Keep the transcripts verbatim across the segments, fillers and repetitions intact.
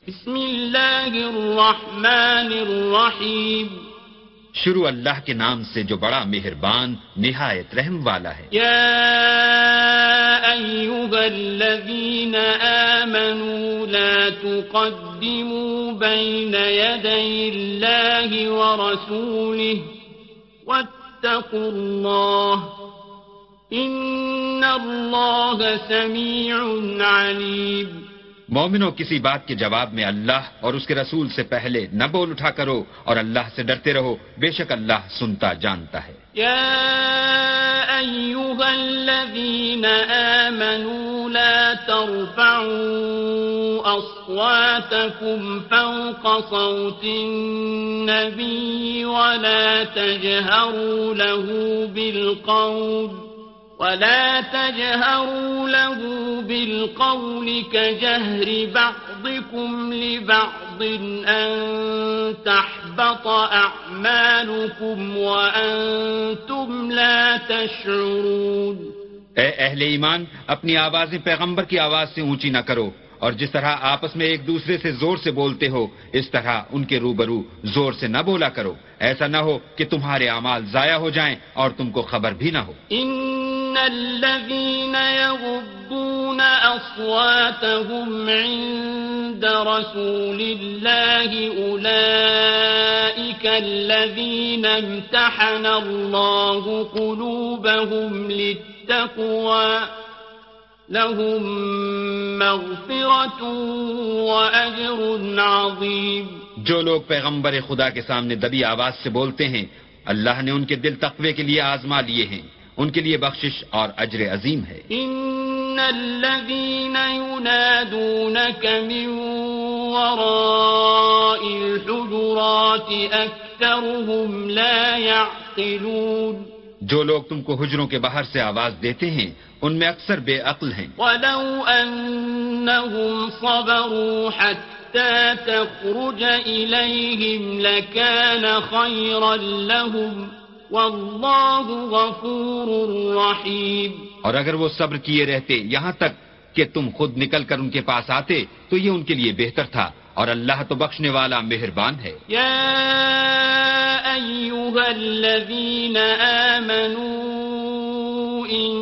بسم اللہ الرحمن الرحیم، شروع اللہ کے نام سے جو بڑا مہربان نہایت رحم والا ہے۔ یا ایھا الذین آمنوا لا تقدموا بین یدی اللہ ورسولہ واتقوا اللہ ان اللہ سمیع علیم۔ مومنوں، کسی بات کے جواب میں اللہ اور اس کے رسول سے پہلے نہ بول اٹھا کرو اور اللہ سے ڈرتے رہو، بے شک اللہ سنتا جانتا ہے۔ یا ایھا الذین آمنوا لا ترفعوا اصواتکم فوق صوت النبی ولا تجہروا له بالقول ولا تجهروا له بالقول كجهر بعضكم لبعض أن تحبط أعمالكم وأنتم لا تشعرون۔ اے اہل ایمان، اپنی آوازیں پیغمبر کی آواز سے اونچی نہ کرو، اور جس طرح آپس میں ایک دوسرے سے زور سے بولتے ہو اس طرح ان کے روبرو زور سے نہ بولا کرو، ایسا نہ ہو کہ تمہارے اعمال ضائع ہو جائیں اور تم کو خبر بھی نہ ہو۔ ان الذين يغضون اصواتهم عند رسول الله اولئك الذين امتحن الله قلوبهم للتقوى لهم مغفرة وأجر عظيم۔ جو لوگ پیغمبر خدا کے سامنے دبی آواز سے بولتے ہیں، اللہ نے ان کے دل تقوی کے لیے آزما لیے ہیں، ان کے لیے بخشش اور اجر عظیم ہے۔ ان الذين ينادونك من وراء الحجرات اكثرهم لا يعقلون۔ جو لوگ تم کو حجروں کے باہر سے آواز دیتے ہیں ان میں اکثر بے عقل ہیں۔ وَلَوْ أَنَّهُمْ صَبَرُوا حَتَّى تَخْرُجَ إِلَيْهِمْ لَكَانَ خَيْرًا لَهُمْ وَاللَّهُ غَفُورٌ رَحِيمٌ۔ اور اگر وہ صبر کیے رہتے یہاں تک کہ تم خود نکل کر ان کے پاس آتے تو یہ ان کے لیے بہتر تھا، اور اللہ تو بخشنے والا مہربان ہے۔ یا ایھا الذین آمنوا ان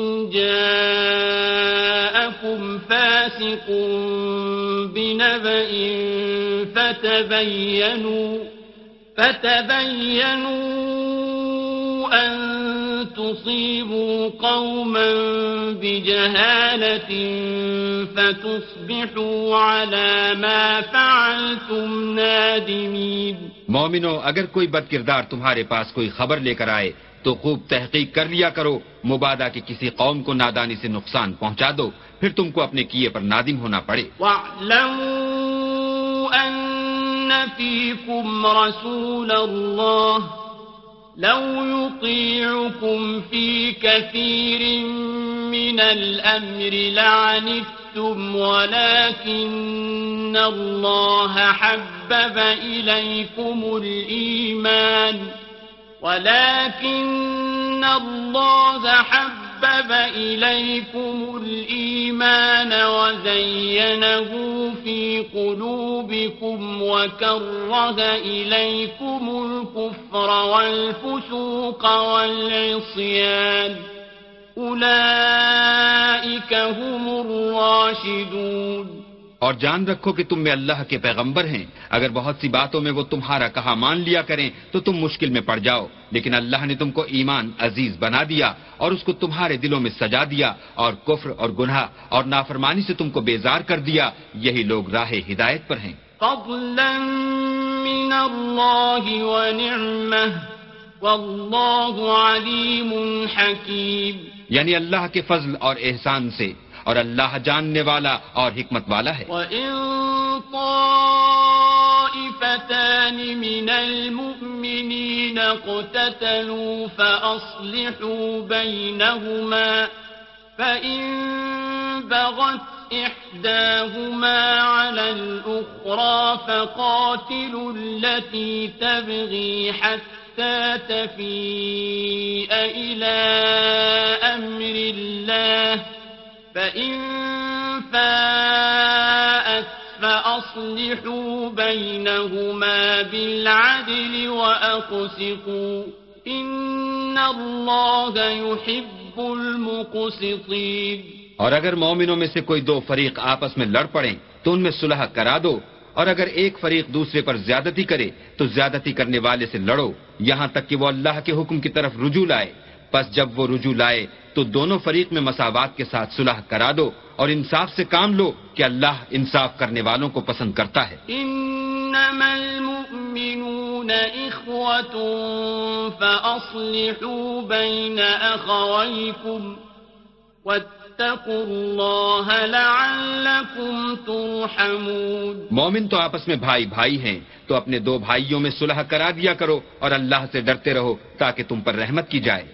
جاءکم فاسق بنبأ فتبینوا فتبینوا ان تصيبوا قوما بجهالة فتصبحوا على ما فعلتم نادمين۔ مومنو، اگر کوئی بد کردار تمہارے پاس کوئی خبر لے کر آئے تو خوب تحقیق کر لیا کرو، مبادا کہ کسی قوم کو نادانی سے نقصان پہنچا دو، پھر تم کو اپنے کیے پر نادم ہونا پڑے۔ وَاعْلَمُوا أَنَّ فِيكُمْ رَسُولَ اللَّهِ لو يطيعكم في كثير من الأمر لعنتم ولكن الله حبب إليكم الإيمان ولكن الله حبب إليكم الإيمان وزينه في قلوبكم وكره إليكم الكفر والفسوق والعصيان أولئك هم الراشدون۔ اور جان رکھو کہ تم میں اللہ کے پیغمبر ہیں، اگر بہت سی باتوں میں وہ تمہارا کہا مان لیا کریں تو تم مشکل میں پڑ جاؤ، لیکن اللہ نے تم کو ایمان عزیز بنا دیا اور اس کو تمہارے دلوں میں سجا دیا، اور کفر اور گناہ اور نافرمانی سے تم کو بیزار کر دیا، یہی لوگ راہ ہدایت پر ہیں۔ فضلا من اللہ ونعمہ واللہ علیم حکیم۔ یعنی اللہ کے فضل اور احسان سے، اور اللہ جاننے والا اور حکمت والا ہے۔ وَإِن طَائِفَتَانِ مِنَ الْمُؤْمِنِينَ اقْتَتَلُوا فَأَصْلِحُوا بَيْنَهُمَا فَإِن بَغَتْ إِحْدَاهُمَا عَلَى الْأُخْرَى فَقَاتِلُوا الَّتِي تَبْغِي حَتَّى تَفِيءَ إِلَى أَمْرِ اللَّهِ فَإِن فَاءَتْ فَأَصْلِحُوا فأصلحوا بينهما بالعدل وأقسطوا إن الله يحب المقسطين. اور اگر مومنوں میں سے کوئی دو فریق آپس میں لڑ پڑیں تو ان میں صلح کرا دو، اور اگر ایک فریق دوسرے پر زیادتی کرے تو زیادتی کرنے والے سے لڑو یہاں تک کہ وہ اللہ کے حکم کی طرف رجوع لائے. پس جب وہ رجوع لائے تو دونوں فریق میں مساوات کے ساتھ صلح کرا دو اور انصاف سے کام لو کہ اللہ انصاف کرنے والوں کو پسند کرتا ہے. انما المؤمنون اخوة فاصلحوا بين اخويكم واتقوا الله لعلكم ترحمون. مومن تو آپس میں بھائی بھائی ہیں تو اپنے دو بھائیوں میں صلح کرا دیا کرو اور اللہ سے ڈرتے رہو تاکہ تم پر رحمت کی جائے.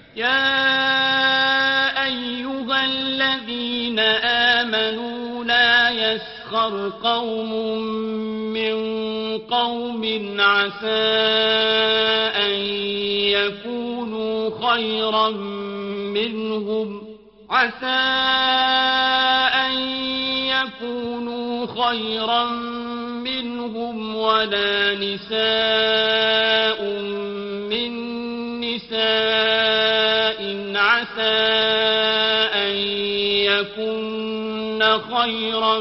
يا أيها الذين آمنوا لا يسخر قوم من قوم عسى أن يكونوا خيرا منهم عسى أن يكونوا خيرا منهم ولا نساء من نساء عسى أن يكن خيرا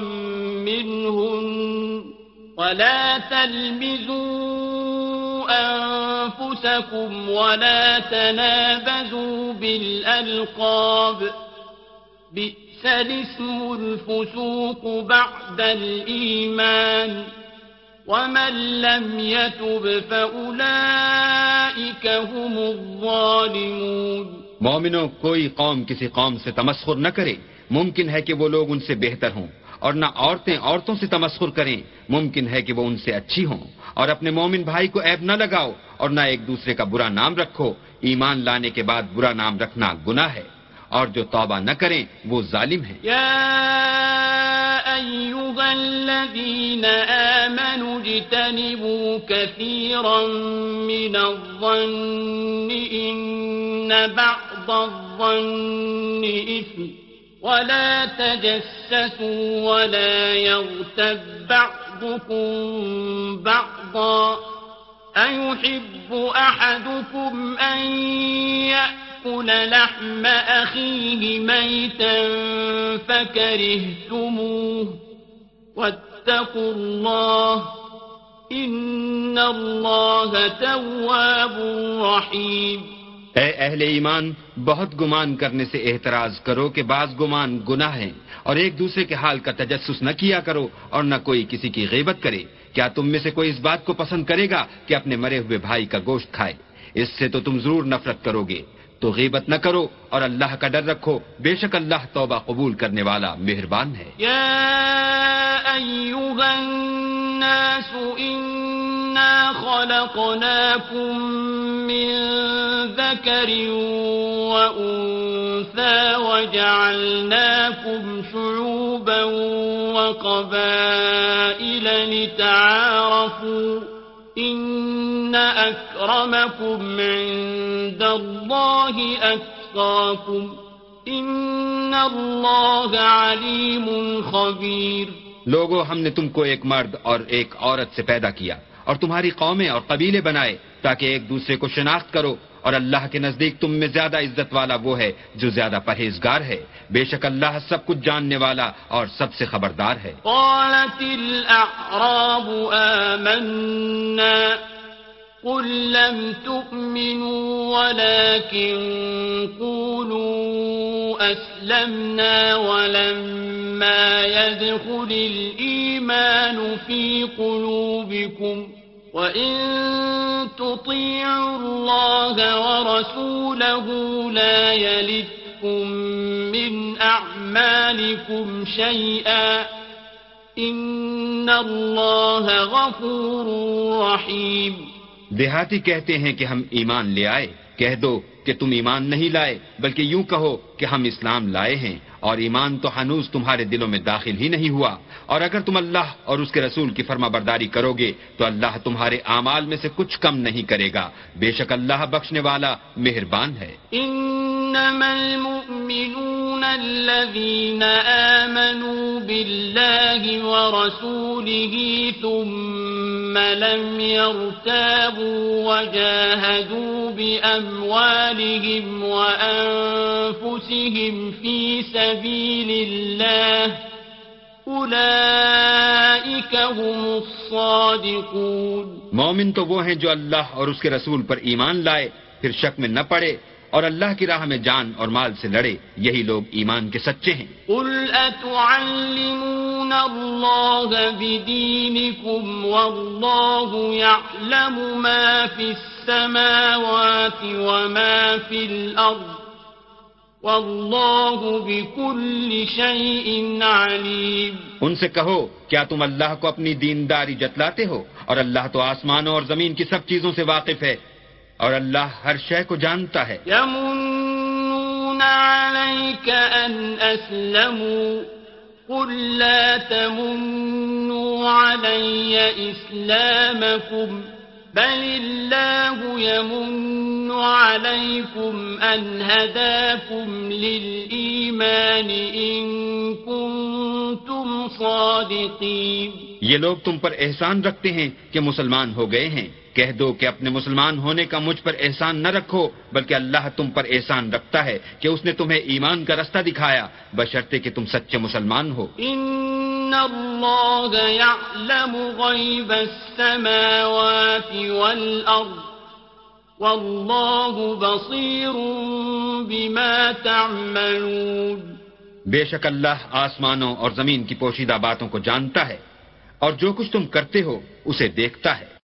منهن ولا تلمزوا أنفسكم ولا تنابزوا بالألقاب بئس الاسم الفسوق بعد الإيمان ومن لم يتب فأولئك هم الظالمون. مومنوں کوئی قوم کسی قوم سے تمسخر نہ کرے، ممکن ہے کہ وہ لوگ ان سے بہتر ہوں، اور نہ عورتیں عورتوں سے تمسخر کریں، ممکن ہے کہ وہ ان سے اچھی ہوں. اور اپنے مومن بھائی کو عیب نہ لگاؤ اور نہ ایک دوسرے کا برا نام رکھو. ایمان لانے کے بعد برا نام رکھنا گناہ ہے، اور جو توبہ نہ کریں وہ ظالم ہیں. يا أيها الذين آمنوا اجتنبوا كثيرا من الظن إن بعض الظن إثم ولا تجسسوا ولا يغتب بعضكم بعضا أيحب أحدكم أن يأكل لحم أخيه ميتا فكرهتموه واتقوا الله إن الله تواب رحيم. اے اہل ایمان، بہت گمان کرنے سے احتراز کرو کہ بعض گمان گناہ ہیں، اور ایک دوسرے کے حال کا تجسس نہ کیا کرو اور نہ کوئی کسی کی غیبت کرے. کیا تم میں سے کوئی اس بات کو پسند کرے گا کہ اپنے مرے ہوئے بھائی کا گوشت کھائے؟ اس سے تو تم ضرور نفرت کرو گے. تو غیبت نہ کرو اور اللہ کا ڈر رکھو، بے شک اللہ توبہ قبول کرنے والا مہربان ہے. یا ایھا الناس انا خلقناکم من ذکر وانثى وجعلناکم شعوبا وقبائل لتعارفوا إن أكرمكم عند الله أتقاكم إن الله عليم خبير. لوگو، ہم نے تم کو ایک مرد اور ایک عورت سے پیدا کیا اور تمہاری قومیں اور قبیلے بنائے تاکہ ایک دوسرے کو شناخت کرو، اور اللہ کے نزدیک تم میں زیادہ عزت والا وہ ہے جو زیادہ پرہیزگار ہے. بے شک اللہ سب کچھ جاننے والا اور سب سے خبردار ہے. قالت الأعراب آمنا قل لم تؤمنوا ولكن قولوا أسلمنا ولما يدخل الإيمان في قلوبكم وَإِن تُطِيعُوا اللَّهَ وَرَسُولَهُ لَا يَلِتْكُم مِّنْ أَعْمَالِكُمْ شَيْئًا إِنَّ اللَّهَ غَفُورٌ رَّحِيمٌ. دیہاتی کہتے ہیں کہ ہم ایمان لے آئے. کہہ دو کہ تم ایمان نہیں لائے، بلکہ یوں کہو کہ ہم اسلام لائے ہیں، اور ایمان تو ہنوز تمہارے دلوں میں داخل ہی نہیں ہوا. اور اگر تم اللہ اور اس کے رسول کی فرما برداری کرو گے تو اللہ تمہارے اعمال میں سے کچھ کم نہیں کرے گا. بے شک اللہ بخشنے والا مہربان ہے. انما المؤمنون الذين آمنوا بالله ورسوله ثم لم يرتابوا وجاهدوا بأموالهم وأنفسهم في سبيل الله أولئك هم الصادقون. مومن تو وہ ہیں جو اللہ اور اس کے رسول پر ایمان لائے پھر شک میں نہ پڑے اور اللہ کی راہ میں جان اور مال سے لڑے، یہی لوگ ایمان کے سچے ہیں. قل أتعلمون الله بدينكم والله يعلم ما في السماوات وما في الأرض والله بكل شيء عليم. ان سے کہو کیا تم اللہ کو اپنی دینداری جتلاتے ہو، اور اللہ تو آسمانوں اور زمین کی سب چیزوں سے واقف ہے اور اللہ ہر شے کو جانتا ہے. يمنون عليك أن أسلموا قل لا تمنوا علي إسلامكم بل الله يمن عليكم أن هداكم للإيمان إن كنتم صادقين. یہ لوگ تم پر احسان رکھتے ہیں کہ مسلمان ہو گئے ہیں. کہہ دو کہ اپنے مسلمان ہونے کا مجھ پر احسان نہ رکھو، بلکہ اللہ تم پر احسان رکھتا ہے کہ اس نے تمہیں ایمان کا رستہ دکھایا بشرطے کہ تم سچے مسلمان ہو. ان اللہ یعلم غیب السماوات والارض واللہ بصیر بما تعملون. بے شک اللہ آسمانوں اور زمین کی پوشیدہ باتوں کو جانتا ہے اور جو کچھ تم کرتے ہو اسے دیکھتا ہے.